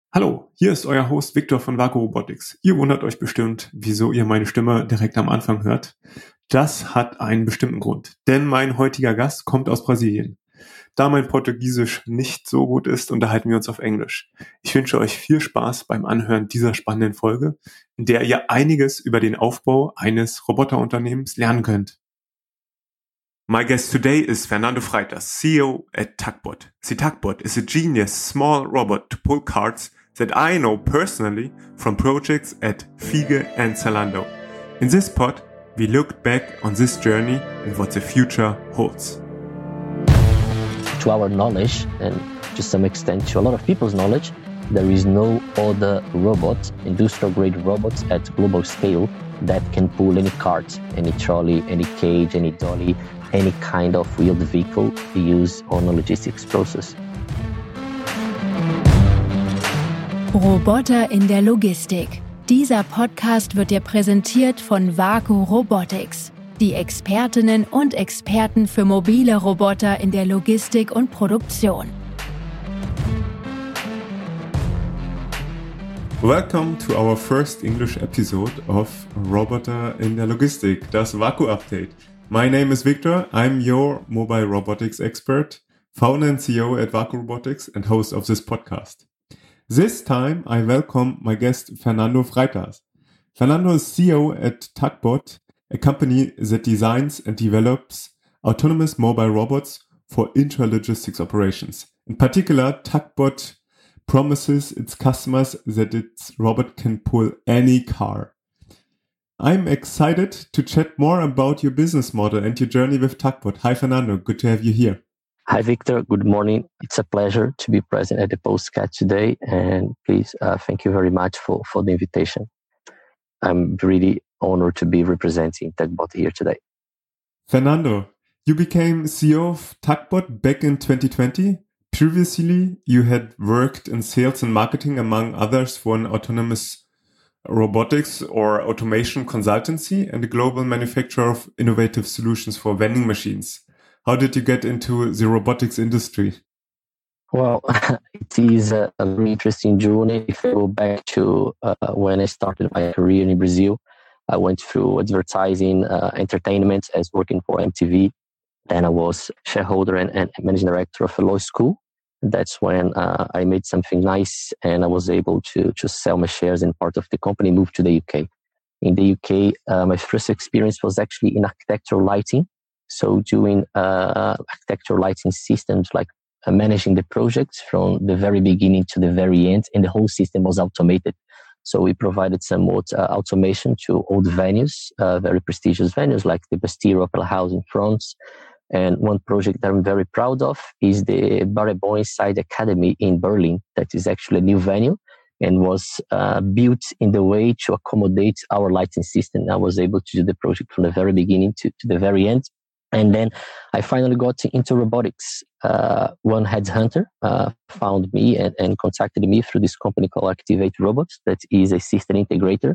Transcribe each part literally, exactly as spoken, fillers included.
Hallo, hier ist euer Host Victor von Vaku Robotics. Ihr wundert euch bestimmt, wieso ihr meine Stimme direkt am Anfang hört. Das hat einen bestimmten Grund, denn mein heutiger Gast kommt aus Brasilien. Da mein Portugiesisch nicht so gut ist, unterhalten wir uns auf Englisch. Ich wünsche euch viel Spaß beim Anhören dieser spannenden Folge, in der ihr einiges über den Aufbau eines Roboterunternehmens lernen könnt. My guest today is Fernando Freitas, C E O at Tugboat. See, Tugboat is a genius small robot to pull carts that I know personally from projects at Fiege and Zalando. In this pod, we looked back on this journey and what the future holds. To our knowledge, and to some extent to a lot of people's knowledge, there is no other robot, industrial-grade robots at global scale that can pull any cart, any trolley, any cage, any dolly, any kind of wheeled vehicle used on a logistics process. Roboter in der Logistik. Dieser Podcast wird dir präsentiert von Vaku Robotics, die Expertinnen und Experten für mobile Roboter in der Logistik und Produktion. Welcome to our first English episode of Roboter in der Logistik, das Vaku Update. My name is Victor. I'm your mobile robotics expert, founder and C E O at Vaku Robotics and host of this podcast. This time I welcome my guest Fernando Freitas. Fernando is C E O at Tugboat, a company that designs and develops autonomous mobile robots for intralogistics operations. In particular, Tugboat promises its customers that its robot can pull any car. I'm excited to chat more about your business model and your journey with Tugboat. Hi, Fernando. Good to have you here. Hi, Victor. Good morning. It's a pleasure to be present at the postcard today. And please, uh, thank you very much for, for the invitation. I'm really honored to be representing Tugboat here today. Fernando, you became C E O of Tugboat back in twenty twenty. Previously, you had worked in sales and marketing, among others, for an autonomous robotics or automation consultancy and a global manufacturer of innovative solutions for vending machines. How did you get into the robotics industry? Well, it is a, a very interesting journey. If I go back to uh, when I started my career in Brazil, I went through advertising, uh, entertainment as working for M T V. Then I was shareholder and, and managing director of a law school. That's when uh, I made something nice and I was able to, to sell my shares in part of the company, move to the U K. In the U K, uh, my first experience was actually in architectural lighting. So doing uh, architectural lighting systems, like uh, managing the projects from the very beginning to the very end, and the whole system was automated. So we provided somewhat uh, automation to old venues, uh, very prestigious venues like the Bastille Opera House in France. And one project that I'm very proud of is the Barenboim Inside Academy in Berlin. That is actually a new venue and was uh, built in the way to accommodate our lighting system. I was able to do the project from the very beginning to, to the very end. And then I finally got into robotics. Uh, one headhunter uh, found me and, and contacted me through this company called Activate Robots, that is a system integrator.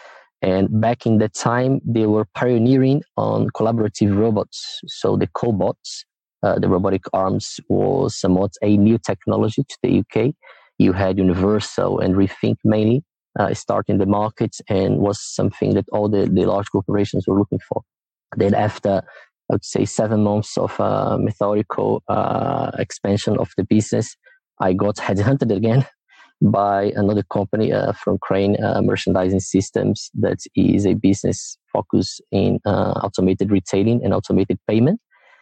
And back in that time, they were pioneering on collaborative robots. So the cobots, uh, the robotic arms, was somewhat a new technology to the U K. You had Universal and Rethink mainly uh, starting the market, and was something that all the, the large corporations were looking for. Then after, I would say, seven months of uh, methodical uh, expansion of the business, I got headhunted again by another company uh, from Crane uh, Merchandising Systems, that is a business focused in uh, automated retailing and automated payment.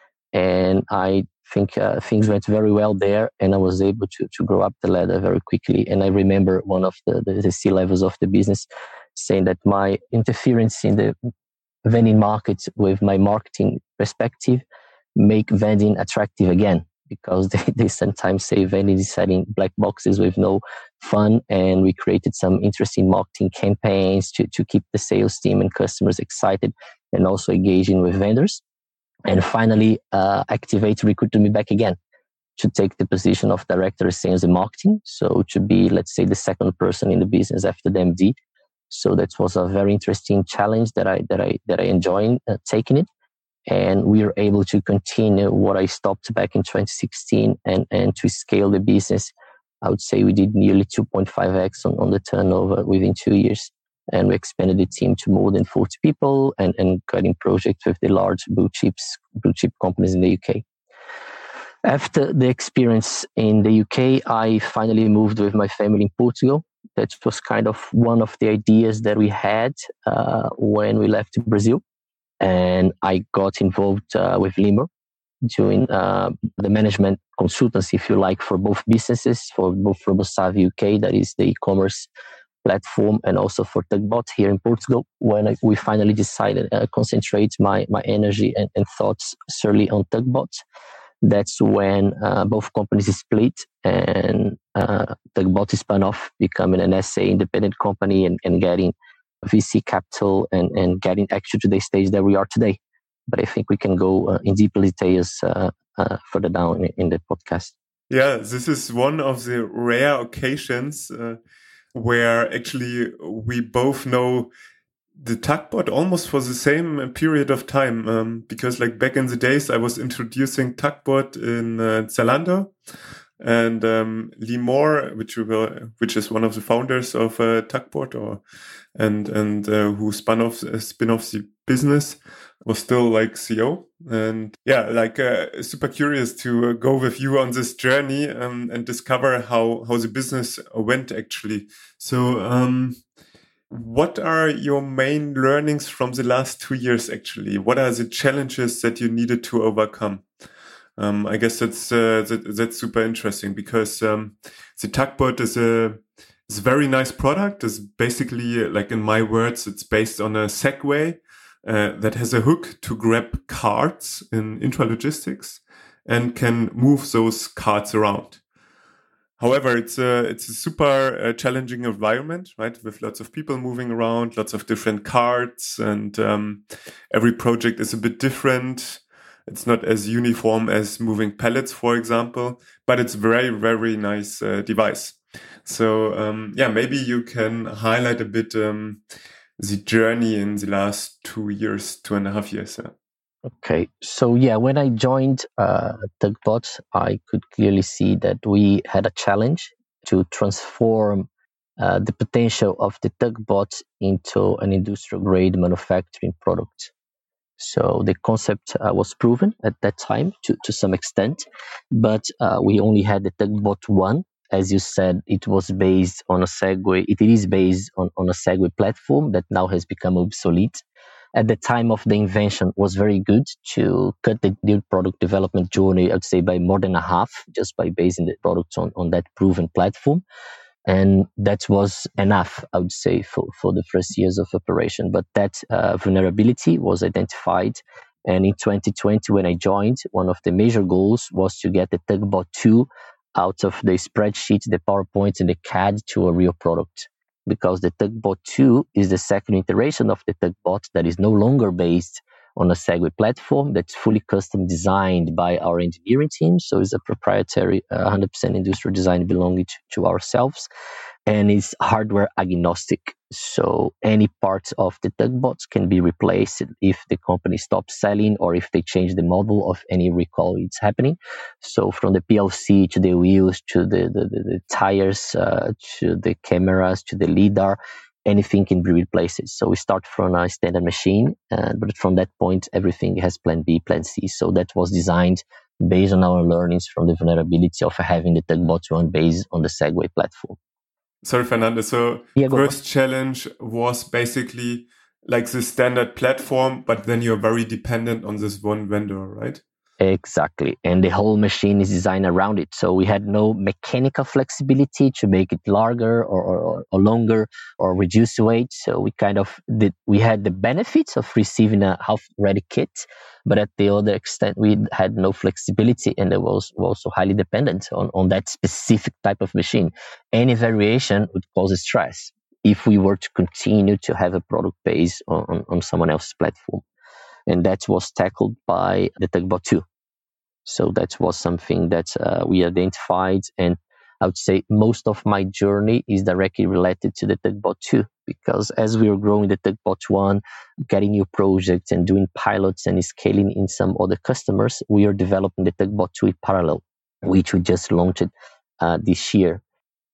And I think uh, things went very well there, and I was able to, to grow up the ladder very quickly. And I remember one of the, the, the C-levels of the business saying that my interference in the vending market with my marketing perspective make vending attractive again. Because they, they sometimes say vending is selling black boxes with no fun. And we created some interesting marketing campaigns to, to keep the sales team and customers excited and also engaging with vendors. And finally, uh, Activate recruited me back again to take the position of director of sales and marketing. So to be, let's say, the second person in the business after the M D. So that was a very interesting challenge that I, that I, that I enjoyed uh, taking it. And we were able to continue what I stopped back in twenty sixteen and, and to scale the business I would say we did nearly two point five x on, on the turnover within two years. And we expanded the team to more than forty people and, and getting projects with the large blue chips, blue chip companies in the U K. After the experience in the U K, I finally moved with my family in Portugal. That was kind of one of the ideas that we had uh, when we left Brazil. And I got involved uh, with Lemur, doing uh, the management consultancy, if you like, for both businesses, for both RoboSav U K, that is the e-commerce platform, and also for Tugbot here in Portugal. When I, we finally decided to uh, concentrate my, my energy and, and thoughts solely on Tugbot, that's when uh, both companies split and uh, Tugbot is spun off, becoming an S A independent company and, and getting V C capital and, and getting actually to the stage that we are today. But I think we can go uh, in deeper details uh, uh, further down in, in the podcast. Yeah, this is one of the rare occasions uh, where actually we both know the Tugbot almost for the same period of time. Um, because like back in the days, I was introducing Tugbot in uh, Zalando. And um, Lemur, which we were, which is one of the founders of uh, Tugbot, or and and uh, who spun off uh, spin off the business, was still like C E O. And yeah, like uh, super curious to uh, go with you on this journey um, and discover how how the business went actually. So, um, what are your main learnings from the last two years actually? What are the challenges that you needed to overcome? Um, I guess that's uh, that, that's super interesting because um, the Tugbot is a is a very nice product. It's basically, like in my words, it's based on a Segway uh, that has a hook to grab carts in intralogistics and can move those carts around. However, it's a it's a super uh, challenging environment, right? With lots of people moving around, lots of different carts, and um, every project is a bit different. It's not as uniform as moving pallets, for example, but it's very, very nice uh, device. So, um, yeah, maybe you can highlight a bit um, the journey in the last two years, two and a half years. Yeah. Okay. So, yeah, when I joined uh, Tugbot, I could clearly see that we had a challenge to transform uh, the potential of the Tugbot into an industrial-grade manufacturing product. So the concept uh, was proven at that time to, to some extent, but uh, we only had the Tugbot one. As you said, it was based on a Segway. It is based on, on a Segway platform that now has become obsolete. At the time of the invention, was very good to cut the new product development journey, I'd say, by more than a half, just by basing the products on, on that proven platform. And that was enough, I would say, for, for the first years of operation. But that uh, vulnerability was identified. And in twenty twenty, when I joined, one of the major goals was to get the Tugbot two out of the spreadsheet, the PowerPoint, and the C A D to a real product. Because the Tugbot two is the second iteration of the Tugbot that is no longer based on a Segway platform, that's fully custom designed by our engineering team. So it's a proprietary uh, one hundred percent industrial design belonging to, to ourselves, and it's hardware agnostic. So any parts of the Tugbots can be replaced if the company stops selling or if they change the model of any recall it's happening. So from the P L C to the wheels to the, the, the, the tires uh, to the cameras to the LiDAR, anything can be replaced. So we start from a standard machine, uh, but from that point, everything has plan B, plan C. So that was designed based on our learnings from the vulnerability of having the Tugbot one based on the Segway platform. Sorry, Fernando. So yeah, first challenge was basically like the standard platform, but then you're very dependent on this one vendor, right? Exactly. And the whole machine is designed around it. So we had no mechanical flexibility to make it larger or, or, or longer or reduce weight. So we kind of did, we had the benefits of receiving a half-ready kit, but at the other extent, we had no flexibility and it was also highly dependent on, on that specific type of machine. Any variation would cause stress if we were to continue to have a product based on, on, on someone else's platform. And that was tackled by the Tugbot two. So that was something that uh, we identified. And I would say most of my journey is directly related to the Tugbot two, because as we were growing the Tugbot one, getting new projects and doing pilots and scaling in some other customers, we are developing the Tugbot two in parallel, which we just launched uh, this year.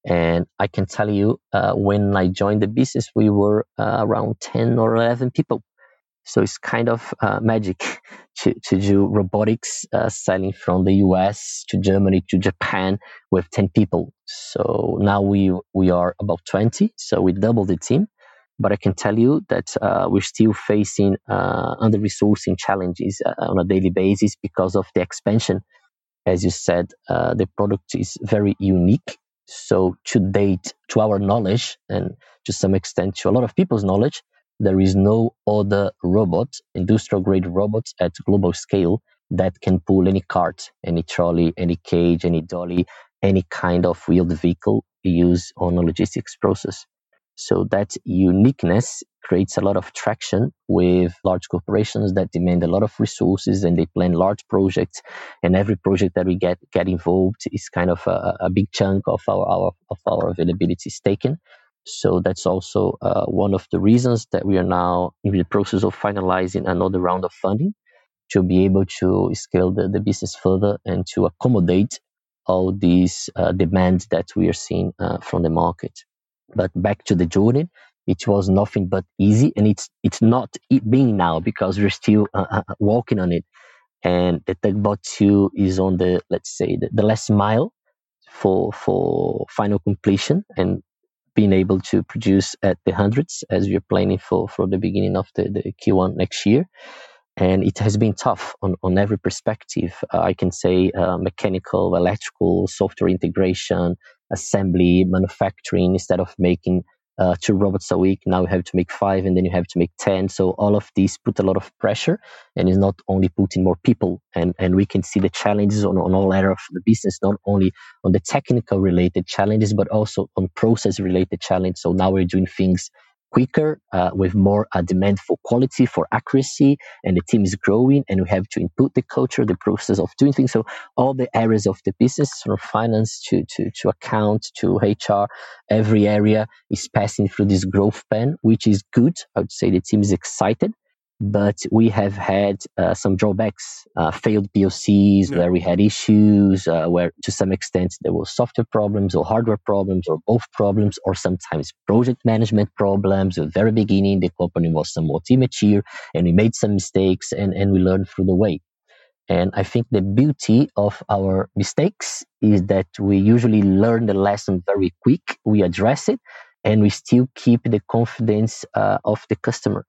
And I can tell you, uh, when I joined the business, we were uh, around ten or eleven people. So it's kind of uh, magic to, to do robotics, uh, selling from the U S to Germany to Japan with ten people. So now we we are about twenty. So we doubled the team. But I can tell you that uh, we're still facing uh, under-resourcing challenges uh, on a daily basis because of the expansion. As you said, uh, the product is very unique. So to date, to our knowledge, and to some extent to a lot of people's knowledge, there is no other robot, industrial-grade robot at global scale that can pull any cart, any trolley, any cage, any dolly, any kind of wheeled vehicle used on a logistics process. So that uniqueness creates a lot of traction with large corporations that demand a lot of resources, and they plan large projects. And every project that we get get involved is kind of a, a big chunk of our, our of our availability is taken. So that's also uh, one of the reasons that we are now in the process of finalizing another round of funding to be able to scale the, the business further and to accommodate all these uh, demands that we are seeing uh, from the market. But back to the journey, it was nothing but easy, and it's it's not it being now because we're still uh, working on it. And the Tugbot two is on the, let's say, the, the last mile for for final completion and being able to produce at the hundreds as we're planning for, for the beginning of the, the Q one next year. And it has been tough on, on every perspective. Uh, I can say uh, mechanical, electrical, software integration, assembly, manufacturing. Instead of making uh, two robots a week, now you have to make five, and then you have to make ten. So all of these put a lot of pressure, and is not only putting more people. And, and we can see the challenges on, on all areas of the business, not only on the technical related challenges, but also on process related challenges. So now we're doing things quicker, uh, with more uh, demand for quality, for accuracy, and the team is growing, and we have to input the culture, the process of doing things. So all the areas of the business, from finance to, to, to account to H R, every area is passing through this growth plan, which is good. I would say the team is excited, but we have had uh, some drawbacks, uh, failed P O Cs, yeah. where we had issues, uh, where to some extent there were software problems or hardware problems or both problems, or sometimes project management problems. At the very beginning, the company was somewhat immature and we made some mistakes, and, and we learned through the way. And I think the beauty of our mistakes is that we usually learn the lesson very quick, we address it, and we still keep the confidence uh, of the customer.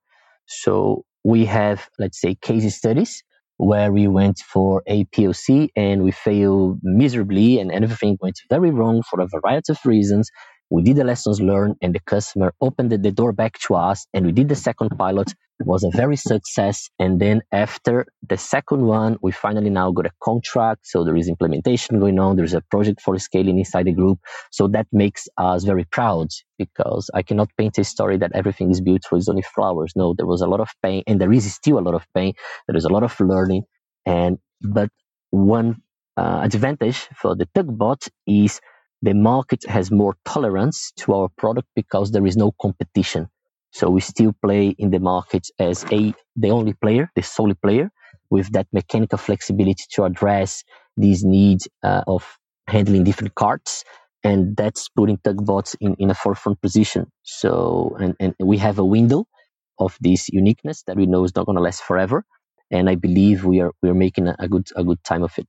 So we have, let's say, case studies where we went for a P O C and we failed miserably, and everything went very wrong for a variety of reasons. We did the lessons learned, and the customer opened the door back to us, and we did the second pilot. It was a very success. And then after the second one, we finally now got a contract. So there is implementation going on. There's a project for scaling inside the group. So that makes us very proud, because I cannot paint a story that everything is beautiful, it's only flowers. No, there was a lot of pain, and there is still a lot of pain. There is a lot of learning. And but one uh, advantage for the Tugbot is the market has more tolerance to our product because there is no competition. So we still play in the market as a the only player, the sole player, with that mechanical flexibility to address these needs uh, of handling different carts. And that's putting Tugbots in, in a forefront position. So, and, and we have a window of this uniqueness that we know is not going to last forever. And I believe we are we are making a, a good a good time of it.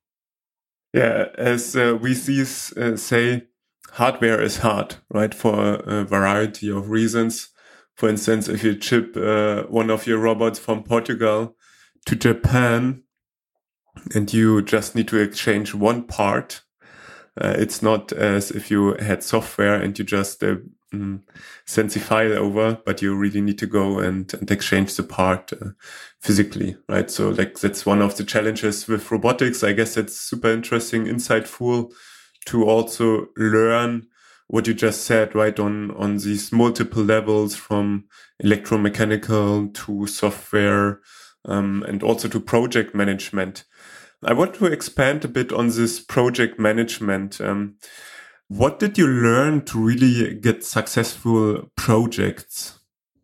Yeah, as uh, we see, uh, say, hardware is hard, right? For a, a variety of reasons. For instance, if you ship uh, one of your robots from Portugal to Japan and you just need to exchange one part, uh, it's not as if you had software and you just uh, mm, send the file over, but you really need to go and, and exchange the part uh, physically, right? So like that's one of the challenges with robotics. I guess it's super interesting, insightful to also learn what you just said, right, on, on these multiple levels, from electromechanical to software, um, and also to project management. I want to expand a bit on this project management. Um, what did you learn to really get successful projects? So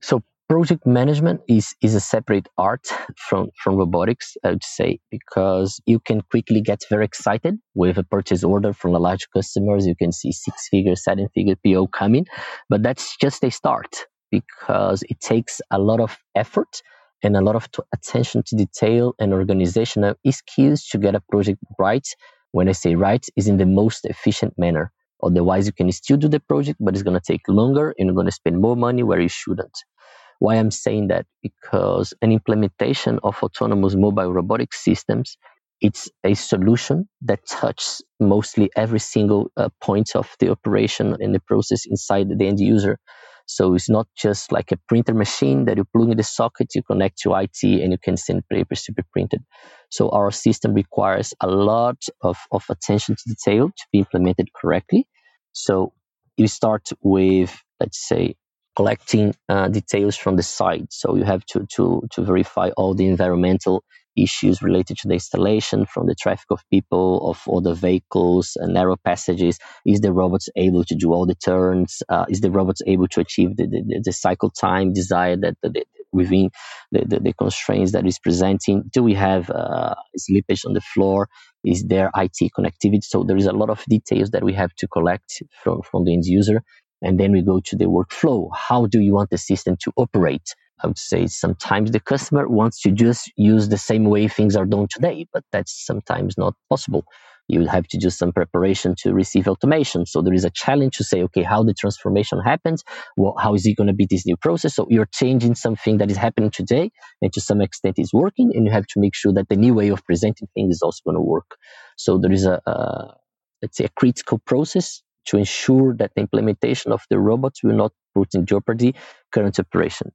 Project management is, is a separate art from, from robotics, I would say, because you can quickly get very excited with a purchase order from a large customers. You can see six-figure, seven-figure P O coming, but that's just a start because it takes a lot of effort and a lot of t- attention to detail and organizational skills to get a project right. When I say right, is in the most efficient manner. Otherwise, you can still do the project, but it's going to take longer and you're going to spend more money where you shouldn't. Why I'm saying that? Because an implementation of autonomous mobile robotic systems, it's a solution that touches mostly every single uh, point of the operation and the process inside the end user. So it's not just like a printer machine that you plug in the socket, you connect to I T, and you can send papers to be printed. So our system requires a lot of, of attention to detail to be implemented correctly. So you start with, let's say, collecting uh, details from the site. So you have to, to, to verify all the environmental issues related to the installation, from the traffic of people, of all the vehicles, and narrow passages. Is the robot able to do all the turns? Uh, is the robot able to achieve the, the, the cycle time desired that the, the, within the, the, the constraints that is presenting? Do we have uh, slippage on the floor? Is there I T connectivity? So there is a lot of details that we have to collect from, from the end user. And then we go to the workflow. How do you want the system to operate? I would say sometimes the customer wants to just use the same way things are done today, but that's sometimes not possible. You have to do some preparation to receive automation. So there is a challenge to say, okay, how the transformation happens? Well, how is it going to be this new process? So you're changing something that is happening today, and to some extent is working, and you have to make sure that the new way of presenting things is also going to work. So there is a, a let's say, a critical process to ensure that the implementation of the robots will not put in jeopardy current operation.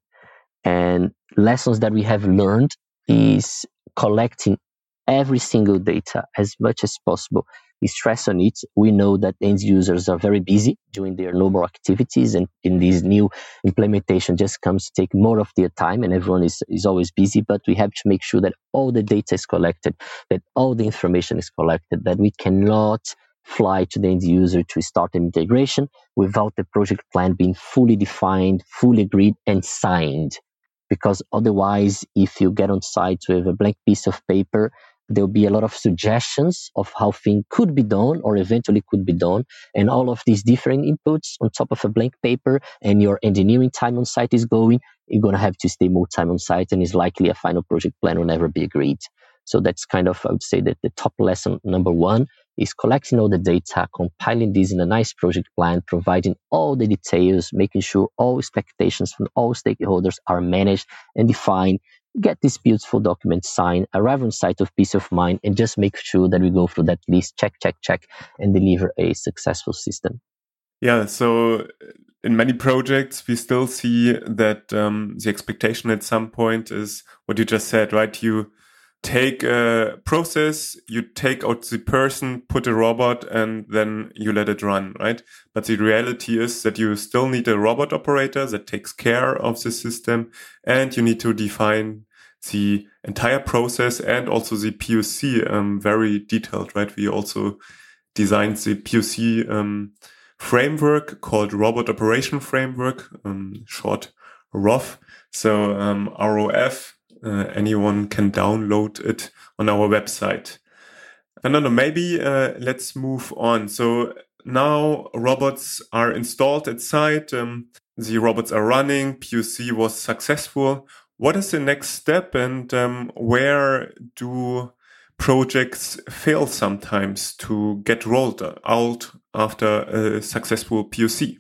And lessons that we have learned is collecting every single data as much as possible. We stress on it. We know that end users are very busy doing their normal activities, and in this new implementation just comes to take more of their time, and everyone is, is always busy. But we have to make sure that all the data is collected, that all the information is collected, that we cannot fly to the end user to start an integration without the project plan being fully defined, fully agreed, and signed. Because otherwise, if you get on site with a blank piece of paper, there'll be a lot of suggestions of how things could be done or eventually could be done. And all of these different inputs on top of a blank paper, and your engineering time on site is going, you're going to have to stay more time on site, and it's likely a final project plan will never be agreed. So that's kind of, I would say, that the top lesson number one is collecting all the data, compiling this in a nice project plan, providing all the details, making sure all expectations from all stakeholders are managed and defined, get this beautiful document signed, arrive on site with peace of mind, and just make sure that we go through that list, check, check, check, and deliver a successful system. Yeah, so in many projects, we still see that um, the expectation at some point is what you just said, right? You take a process, you take out the person, put a robot, and then you let it run, right? But the reality is that you still need a robot operator that takes care of the system, and you need to define the entire process and also the P O C um, very detailed, right? We also designed the P O C um, framework called Robot Operation Framework, um, short R O F. So um, R O F. Uh, anyone can download it on our website. I don't know, maybe uh, let's move on. So now robots are installed at site. Um, the robots are running. P O C was successful. What is the next step, and um, where do projects fail sometimes to get rolled out after a successful P O C?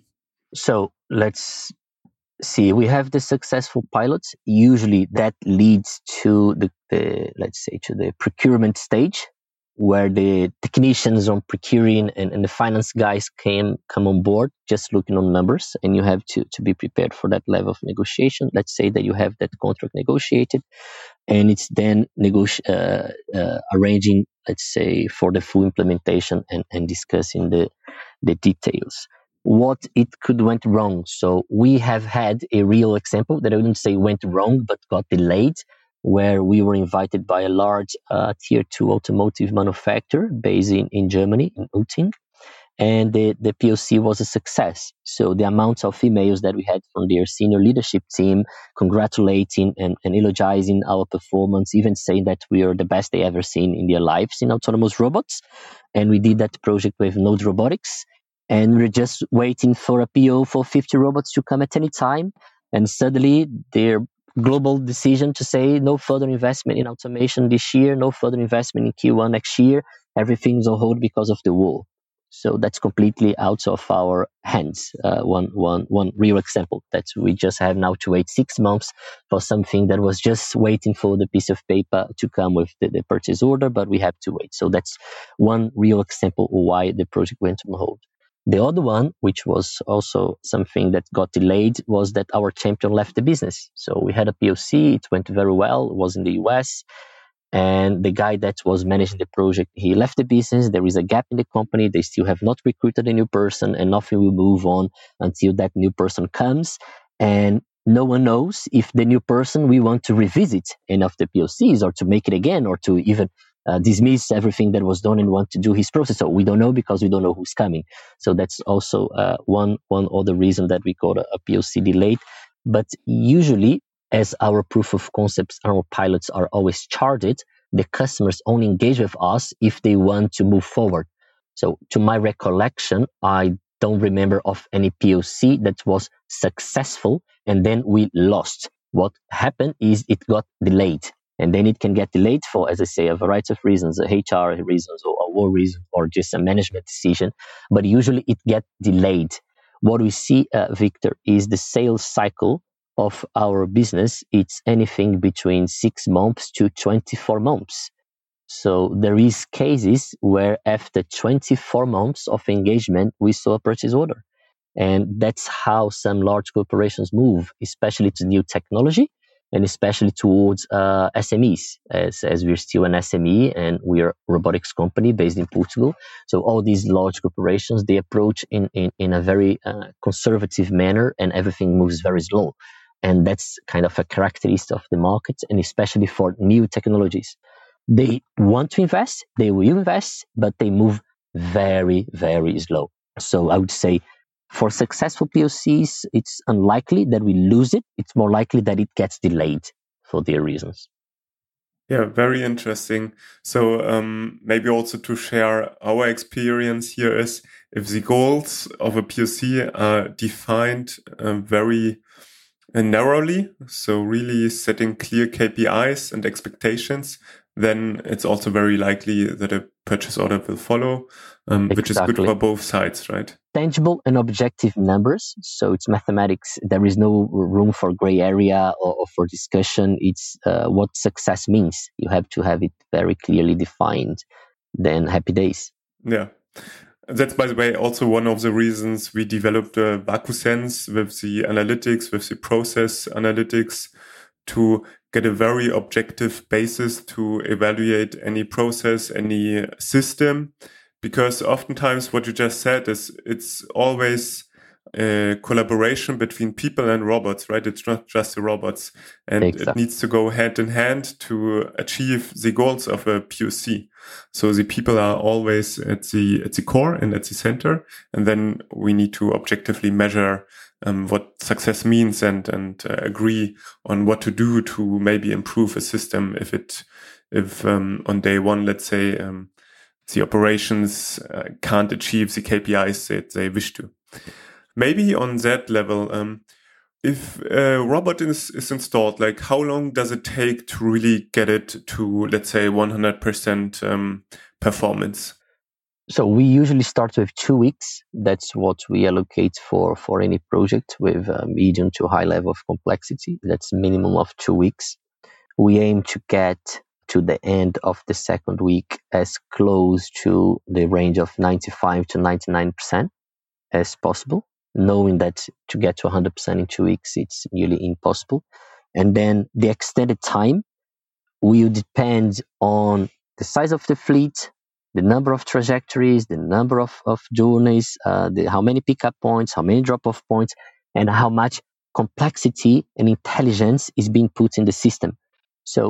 So let's see, we have the successful pilots. Usually that leads to the, the let's say, to the procurement stage, where the technicians on procuring and, and the finance guys can come on board, just looking on numbers, and you have to, to be prepared for that level of negotiation. Let's say that you have that contract negotiated, and it's then negoti- uh, uh, arranging, let's say, for the full implementation and, and discussing the, the details. What it could went wrong. So we have had a real example that I wouldn't say went wrong, but got delayed, where we were invited by a large uh, tier two automotive manufacturer based in, in Germany, in Uting. and the, the P O C was a success. So the amount of emails that we had from their senior leadership team congratulating and, and elogizing our performance, even saying that we are the best they ever seen in their lives in autonomous robots. And we did that project with Node Robotics. And we're just waiting for a P O for fifty robots to come at any time. And suddenly their global decision to say no further investment in automation this year, no further investment in Q one next year, everything's on hold because of the war. So that's completely out of our hands. Uh, one, one, one real example that we just have now to wait six months for something that was just waiting for the piece of paper to come with the, the purchase order, but we have to wait. So that's one real example of why the project went on hold. The other one, which was also something that got delayed, was that our champion left the business. So we had a P O C, it went very well, it was in the U S, and the guy that was managing the project, he left the business. There is a gap in the company. They still have not recruited a new person, and nothing will move on until that new person comes. And no one knows if the new person we want to revisit any of the P O Cs or to make it again or to even uh, dismiss everything that was done and want to do his process. So we don't know because we don't know who's coming. So that's also uh, one one other reason that we got a, a P O C delayed. But usually, as our proof of concepts and our pilots are always charged, the customers only engage with us if they want to move forward. So to my recollection, I don't remember of any P O C that was successful and then we lost. What happened is it got delayed. And then it can get delayed for, as I say, a variety of reasons, H R reasons or a war reason or just a management decision. But usually it gets delayed. What we see, uh, Victor, is the sales cycle of our business. It's anything between six months to twenty-four months. So there is cases where after twenty-four months of engagement, we saw a purchase order. And that's how some large corporations move, especially to new technology and especially towards uh, S M Es, as, as we're still an S M E and we are a robotics company based in Portugal. So all these large corporations, they approach in, in, in a very uh, conservative manner and everything moves very slow. And that's kind of a characteristic of the market, and especially for new technologies. They want to invest, they will invest, but they move very, very slow. So I would say for successful P O Cs, it's unlikely that we lose it. It's more likely that it gets delayed for their reasons. Yeah, very interesting. So um, maybe also to share our experience here is if the goals of a P O C are defined uh, very and narrowly, so really setting clear K P Is and expectations, then it's also very likely that a purchase order will follow, um, exactly. which is good for both sides, right? Tangible and objective numbers. So it's mathematics. There is no room for gray area or, or for discussion. It's uh, what success means. You have to have it very clearly defined. Then happy days. Yeah. That's, by the way, also one of the reasons we developed uh, VacuSense with the analytics, with the process analytics, to get a very objective basis to evaluate any process, any system. Because oftentimes what you just said is it's always a collaboration between people and robots, right? It's not just the robots. And exactly. It needs to go hand in hand to achieve the goals of a P O C. So the people are always at the at the core and at the center. And then we need to objectively measure um, what success means and and uh, agree on what to do to maybe improve a system if it if um, on day one, let's say, um, the operations uh, can't achieve the K P Is that they wish to. Maybe on that level, um, if a robot is, is installed, like how long does it take to really get it to, let's say, one hundred percent um, performance? So we usually start with two weeks. That's what we allocate for, for any project with a medium to high level of complexity. That's a minimum of two weeks. We aim to get to the end of the second week as close to the range of ninety-five to ninety-nine percent as possible, knowing that to get to one hundred percent in two weeks, it's nearly impossible. And then the extended time will depend on the size of the fleet, the number of trajectories, the number of, of journeys, uh, the, how many pickup points, how many drop-off points, and how much complexity and intelligence is being put in the system. So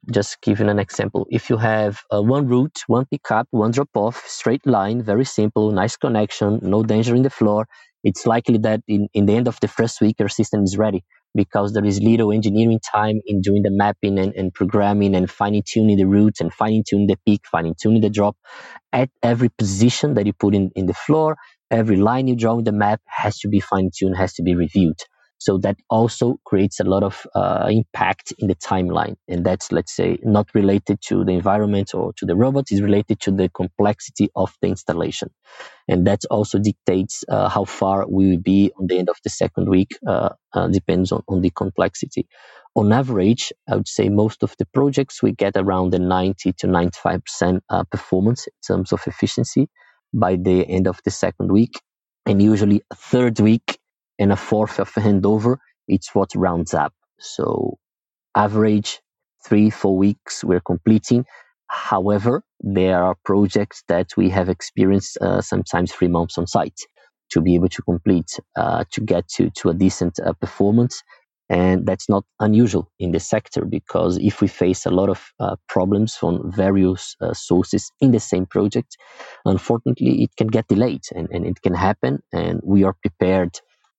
Just giving an example. If you have uh, one route, one pickup, one drop-off, straight line, very simple, nice connection, no danger in the floor, it's likely that in, in the end of the first week, your system is ready because there is little engineering time in doing the mapping and, and programming and fine-tuning the routes and fine-tuning the peak, fine-tuning the drop. At every position that you put in, in the floor, every line you draw in the map has to be fine-tuned, has to be reviewed. So that also creates a lot of uh, impact in the timeline. And that's, let's say, not related to the environment or to the robot, it's related to the complexity of the installation. And that also dictates uh, how far we will be on the end of the second week, uh, uh, depends on, on the complexity. On average, I would say most of the projects we get around the ninety to ninety-five percent uh, performance in terms of efficiency by the end of the second week. And usually a third week and a fourth of a handover, it's what rounds up. So average three, four weeks we're completing. However, there are projects that we have experienced uh, sometimes three months on site to be able to complete, uh, to get to, to a decent uh, performance. And that's not unusual in the sector because if we face a lot of uh, problems from various uh, sources in the same project, unfortunately, it can get delayed and, and it can happen. And we are prepared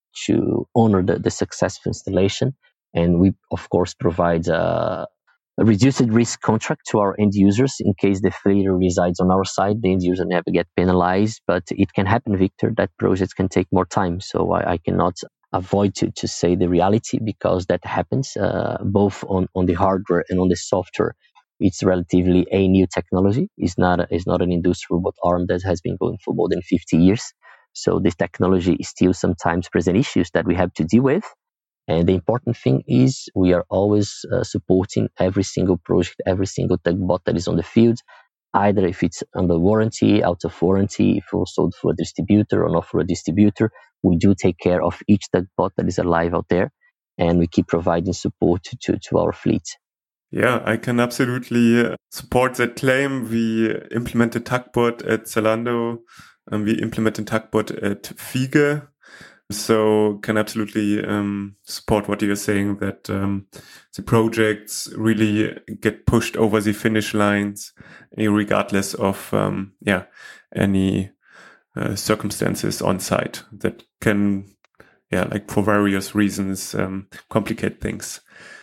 to honor the, the successful installation. And we, of course, provide a, a reduced risk contract to our end users in case the failure resides on our side. The end user never get penalized, but it can happen, Victor, that projects can take more time. So I, I cannot avoid to, to say the reality because that happens uh, both on, on the hardware and on the software. It's relatively a new technology. It's not, a, it's not an industrial robot arm that has been going for more than fifty years. So this technology is still sometimes present issues that we have to deal with. And the important thing is we are always uh, supporting every single project, every single TugBot that is on the field, either if it's under warranty, out of warranty, if we're sold for a distributor or not for a distributor. We do take care of each TugBot that is alive out there, and we keep providing support to, to, to our fleet. Yeah, I can absolutely support that claim. We implemented TugBot at Zalando, and we implemented TugBot at Fiege. So can absolutely um, support what you're saying, that um, the projects really get pushed over the finish lines, regardless of um, yeah any uh, circumstances on site that can yeah like for various reasons um, complicate things.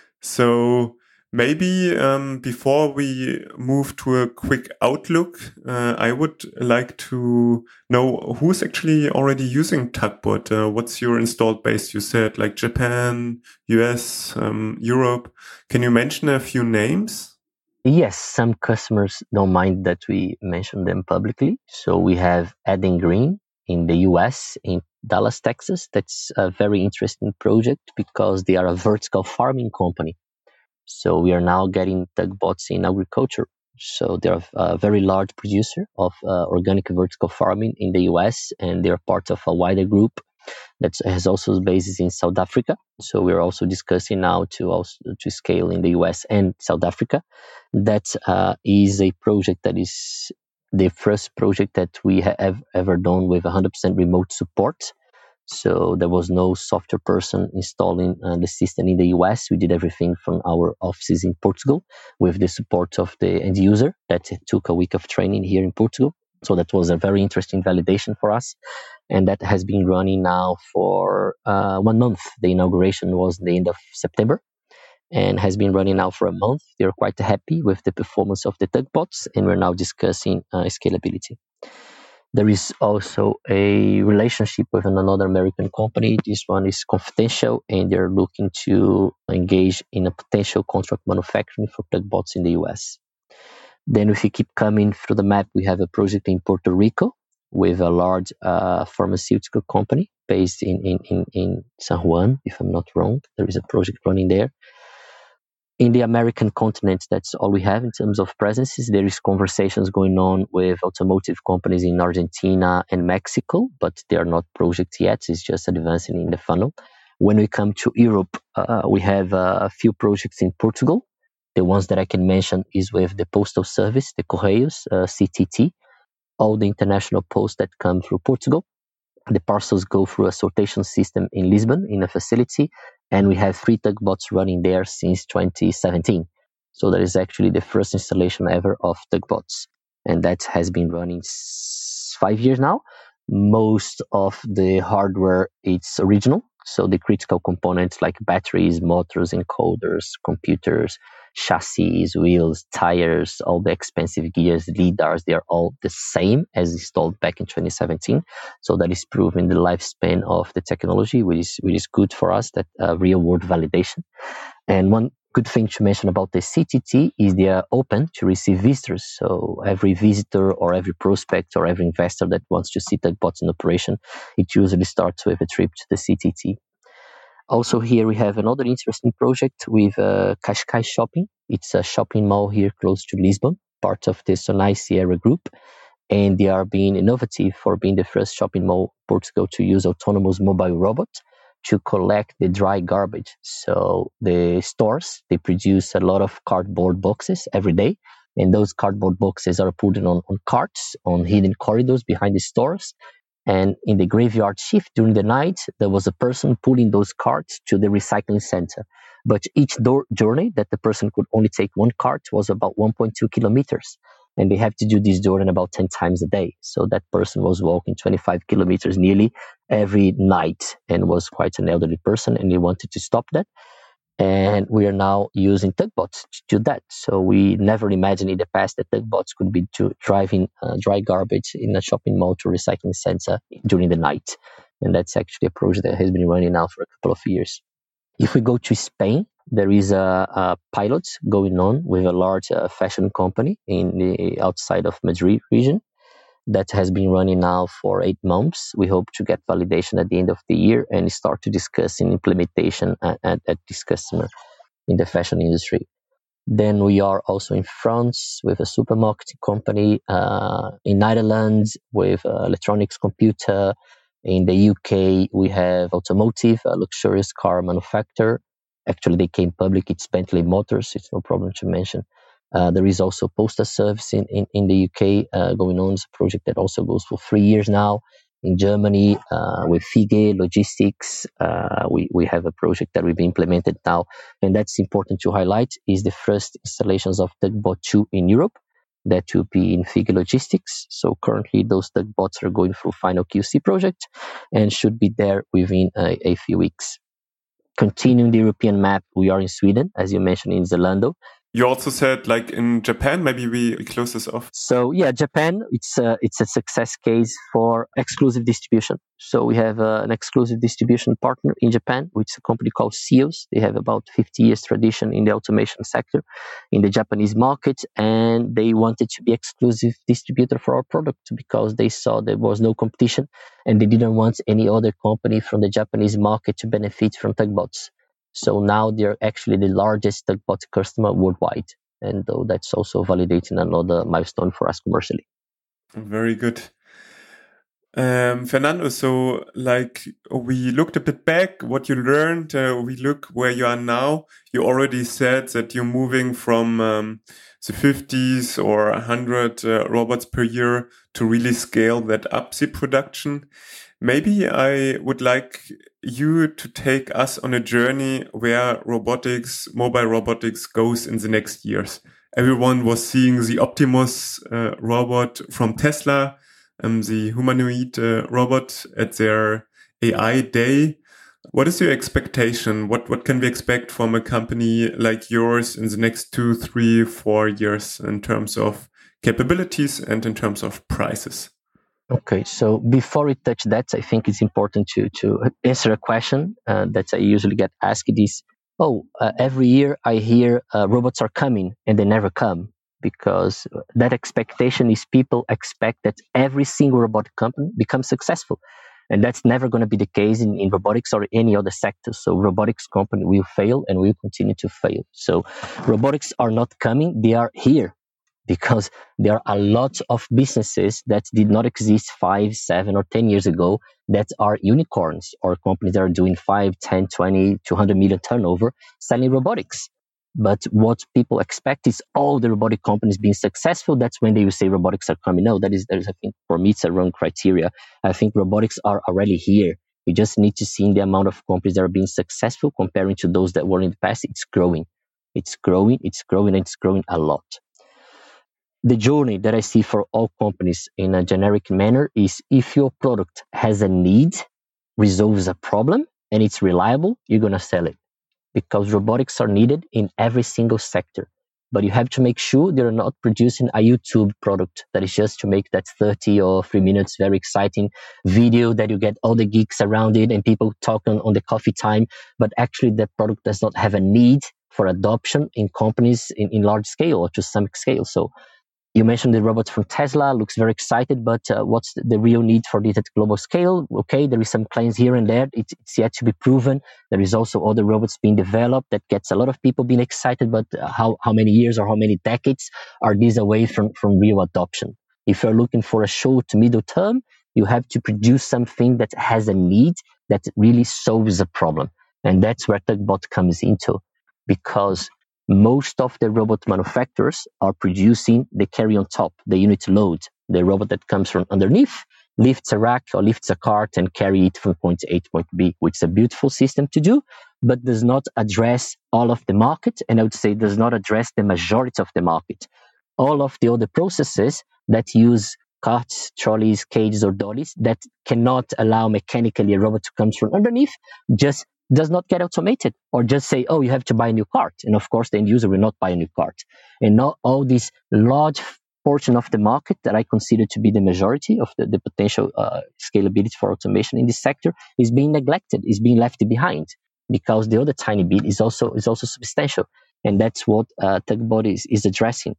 So maybe um, before we move to a quick outlook, uh, I would like to know who's actually already using TugBot. Uh, what's your installed base? You said like Japan, U S, um, Europe. Can you mention a few names? Yes, some customers don't mind that we mention them publicly. So we have Eden Green in the U S, in Dallas, Texas. That's a very interesting project because they are a vertical farming company. So we are now getting TugBots in agriculture. So they're a very large producer of uh, organic vertical farming in the U S, and they're part of a wider group that has also bases in South Africa. So we're also discussing now to also to scale in the U S and South Africa. That uh, is a project that is the first project that we have ever done with one hundred percent remote support. So there was no software person installing uh, the system in the U S. We did everything from our offices in Portugal with the support of the end user. That took a week of training here in Portugal. So that was a very interesting validation for us. And that has been running now for uh, one month. The inauguration was the end of September and has been running now for a month. They're quite happy with the performance of the TugBots, and we're now discussing uh, scalability. There is also a relationship with another American company. This one is confidential, and they're looking to engage in a potential contract manufacturing for TugBots in the U S. Then if you keep coming through the map, we have a project in Puerto Rico with a large uh, pharmaceutical company based in, in, in, in San Juan, if I'm not wrong. There is a project running there. In the American continent, that's all we have in terms of presences. There is conversations going on with automotive companies in Argentina and Mexico, but they are not projects yet. It's just advancing in the funnel. When we come to Europe, uh, we have uh, a few projects in Portugal. The ones that I can mention is with the Postal Service, the Correios, uh, C T T, all the international posts that come through Portugal. The parcels go through a sortation system in Lisbon in a facility, and we have three TugBots running there since twenty seventeen. So that is actually the first installation ever of Tugbots. And that has been running five years now. Most of the hardware is original. So the critical components like batteries, motors, encoders, computers, chassis, wheels, tires, all the expensive gears, lidars, they are all the same as installed back in twenty seventeen. So that is proving the lifespan of the technology, which is, which is good for us, that uh, real world validation. And one good thing to mention about the C T T is they are open to receive visitors. So every visitor or every prospect or every investor that wants to see Tugbots in operation, it usually starts with a trip to the C T T. Also here we have another interesting project with uh, Cascais Shopping. It's a shopping mall here close to Lisbon, part of the Sonai Sierra Group. And they are being innovative for being the first shopping mall in Portugal to use autonomous mobile robots to collect the dry garbage. So the stores, they produce a lot of cardboard boxes every day. And those cardboard boxes are put on, on carts, on hidden corridors behind the stores. And in the graveyard shift during the night, there was a person pulling those carts to the recycling center. But each door journey that the person could only take one cart was about one point two kilometers. And they have to do this journey about ten times a day. So that person was walking twenty-five kilometers nearly every night and was quite an elderly person, and they wanted to stop that. And we are now using Tugbots to do that. So we never imagined in the past that Tugbots could be to driving uh, dry garbage in a shopping mall to a recycling center during the night. And that's actually a project that has been running now for a couple of years. If we go to Spain, there is a, a pilot going on with a large uh, fashion company in the outside of Madrid region that has been running now for eight months. We hope to get validation at the end of the year and start to discuss in implementation at, at, at this customer in the fashion industry. Then we are also in France with a supermarket company, uh, in Netherlands with uh, electronics computer. In the U K, we have automotive, a luxurious car manufacturer. Actually, they came public. It's Bentley Motors. It's no problem to mention. Uh, there is also postal service in, in, in the U K uh, going on. It's a project that also goes for three years now. In Germany, uh, with Fige Logistics, uh, we, we have a project that we've implemented now. And that's important to highlight, is the first installations of Tugbot two in Europe. That will be in Fige Logistics. So currently those Tugbots are going through final Q C project and should be there within a, a few weeks. Continuing the European map, we are in Sweden, as you mentioned, in Zalando. You also said, like in Japan, maybe we, we close this off. So yeah, Japan, it's a, it's a success case for exclusive distribution. So we have uh, an exclusive distribution partner in Japan, which is a company called Seos. They have about fifty years tradition in the automation sector in the Japanese market, and they wanted to be exclusive distributor for our product because they saw there was no competition and they didn't want any other company from the Japanese market to benefit from Tugbots. So now they're actually the largest Tugbot customer worldwide. And though that's also validating another milestone for us commercially. Very good. Um, Fernando, so like we looked a bit back, what you learned, uh, we look where you are now. You already said that you're moving from um, the fifties or one hundred uh, robots per year to really scale that up the production. Maybe I would like you to take us on a journey where robotics, mobile robotics goes in the next years. Everyone was seeing the Optimus uh, robot from Tesla, um, the humanoid uh, robot at their A I day. What is your expectation? What what can we expect from a company like yours in the next two, three, four years in terms of capabilities and in terms of prices? Okay, so before we touch that, I think it's important to to answer a question uh, that I usually get asked is, oh, uh, every year I hear uh, robots are coming and they never come, because that expectation is people expect that every single robotic company becomes successful. And that's never going to be the case in, in robotics or any other sector. So robotics company will fail and will continue to fail. So robotics are not coming, they are here. Because there are a lot of businesses that did not exist five, seven, or ten years ago that are unicorns or companies that are doing five, ten, twenty, two hundred million turnover selling robotics. But what people expect is all the robotic companies being successful. That's when they will say robotics are coming. No, that is, that is, I think, for me, it's a wrong criteria. I think robotics are already here. We just need to see the amount of companies that are being successful comparing to those that were in the past. It's growing. It's growing, it's growing, and it's growing a lot. The journey that I see for all companies in a generic manner is if your product has a need, resolves a problem, and it's reliable, you're going to sell it. Because robotics are needed in every single sector. But you have to make sure they're not producing a YouTube product that is just to make that thirty or three minutes very exciting video that you get all the geeks around it and people talking on the coffee time. But actually that product does not have a need for adoption in companies in, in large scale or to some scale. So you mentioned the robot from Tesla, looks very excited, but uh, what's the, the real need for this at global scale? Okay, there is some claims here and there. It's, it's yet to be proven. There is also other robots being developed that gets a lot of people being excited, but uh, how, how many years or how many decades are these away from, from real adoption? If you're looking for a short to middle term, you have to produce something that has a need that really solves a problem. And that's where Tugbot comes into, because most of the robot manufacturers are producing the carry on top, the unit load, the robot that comes from underneath, lifts a rack or lifts a cart and carry it from point A to point B, which is a beautiful system to do, but does not address all of the market. And I would say does not address the majority of the market. All of the other processes that use carts, trolleys, cages, or dollies that cannot allow mechanically a robot to come from underneath just does not get automated, or just say, oh, you have to buy a new cart. And of course, the end user will not buy a new cart. And not all this large portion of the market that I consider to be the majority of the, the potential uh, scalability for automation in this sector is being neglected, is being left behind, because the other tiny bit is also is also substantial. And that's what uh, Tugbot is, is addressing.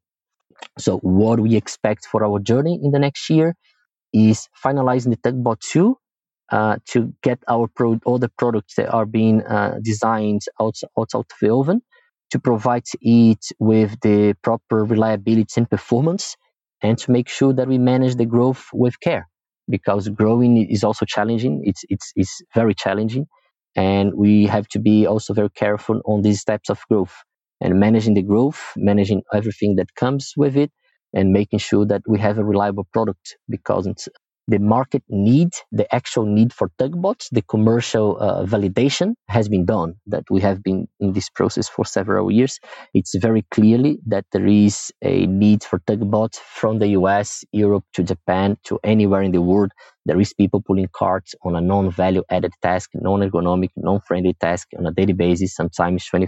So what we expect for our journey in the next year is finalizing the Tugbot two, Uh, to get our pro- all the products that are being uh, designed out, out of the oven, to provide it with the proper reliability and performance, and to make sure that we manage the growth with care, because growing is also challenging. It's it's it's very challenging, and we have to be also very careful on these types of growth and managing the growth, managing everything that comes with it, and making sure that we have a reliable product, because it's the market need, the actual need for Tugbots, the commercial uh, validation has been done, that we have been in this process for several years. It's very clearly that there is a need for Tugbots from the U S, Europe to Japan to anywhere in the world. There is people pulling carts on a non-value added task, non-ergonomic, non-friendly task on a daily basis, sometimes twenty,